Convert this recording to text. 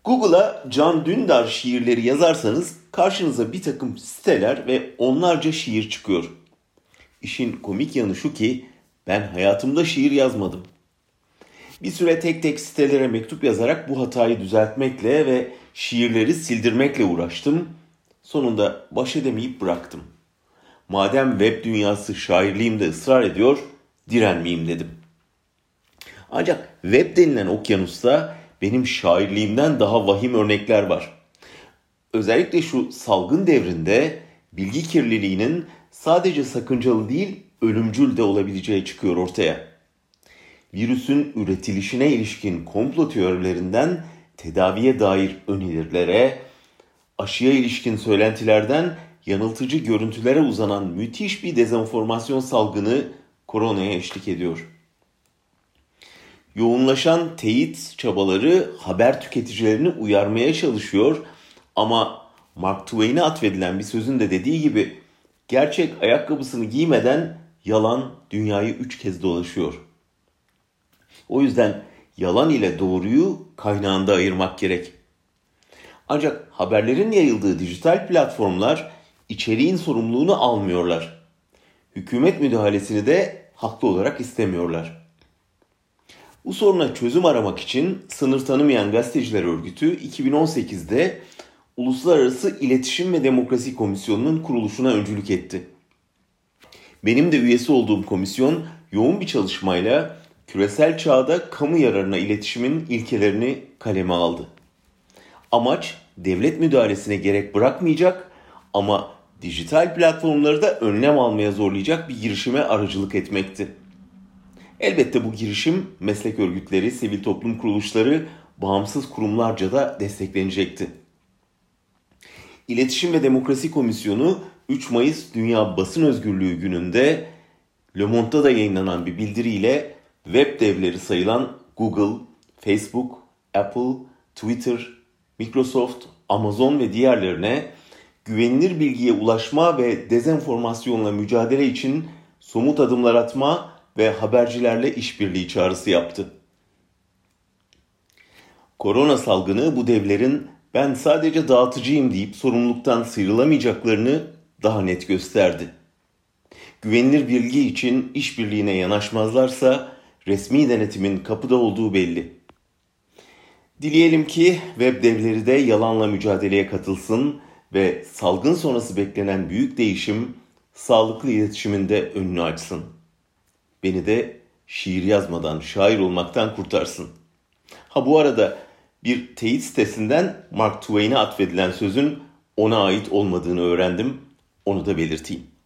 Google'a Can Dündar şiirleri yazarsanız karşınıza bir takım siteler ve onlarca şiir çıkıyor. İşin komik yanı şu ki ben hayatımda şiir yazmadım. Bir süre tek tek sitelere mektup yazarak bu hatayı düzeltmekle ve şiirleri sildirmekle uğraştım. Sonunda baş edemeyip bıraktım. Madem web dünyası şairliğimde ısrar ediyor, direnmeyeyim dedim. Ancak web denilen okyanusta benim şairliğimden daha vahim örnekler var. Özellikle şu salgın devrinde bilgi kirliliğinin sadece sakıncalı değil, ölümcül de olabileceği çıkıyor ortaya. Virüsün üretilişine ilişkin komplo teorilerinden tedaviye dair önerilere, aşıya ilişkin söylentilerden yanıltıcı görüntülere uzanan müthiş bir dezenformasyon salgını koronaya eşlik ediyor. Yoğunlaşan teyit çabaları haber tüketicilerini uyarmaya çalışıyor ama Mark Twain'e atfedilen bir sözün de dediği gibi gerçek ayakkabısını giymeden yalan dünyayı 3 kez dolaşıyor. O yüzden yalan ile doğruyu kaynağında ayırmak gerek. Ancak haberlerin yayıldığı dijital platformlar içeriğin sorumluluğunu almıyorlar. Hükümet müdahalesini de haklı olarak istemiyorlar. Bu soruna çözüm aramak için Sınır Tanımayan Gazeteciler Örgütü 2018'de Uluslararası İletişim ve Demokrasi Komisyonu'nun kuruluşuna öncülük etti. Benim de üyesi olduğum komisyon yoğun bir çalışmayla küresel çağda kamu yararına iletişimin ilkelerini kaleme aldı. Amaç devlet müdahalesine gerek bırakmayacak ama dijital platformları da önlem almaya zorlayacak bir girişime aracılık etmekti. Elbette bu girişim meslek örgütleri, sivil toplum kuruluşları, bağımsız kurumlarca da desteklenecekti. İletişim ve Demokrasi Komisyonu 3 Mayıs Dünya Basın Özgürlüğü gününde Le Monde'da da yayınlanan bir bildiriyle web devleri sayılan Google, Facebook, Apple, Twitter, Microsoft, Amazon ve diğerlerine güvenilir bilgiye ulaşma ve dezenformasyonla mücadele için somut adımlar atma ve habercilerle işbirliği çağrısı yaptı. Korona salgını bu devlerin ben sadece dağıtıcıyım deyip sorumluluktan sıyrılamayacaklarını daha net gösterdi. Güvenilir bilgi için işbirliğine yanaşmazlarsa resmi denetimin kapıda olduğu belli. Dileyelim ki web devleri de yalanla mücadeleye katılsın ve salgın sonrası beklenen büyük değişim sağlıklı iletişimin de önünü açsın. Beni de şiir yazmadan şair olmaktan kurtarsın. Ha bu arada bir teyit sitesinden Mark Twain'e atfedilen sözün ona ait olmadığını öğrendim. Onu da belirteyim.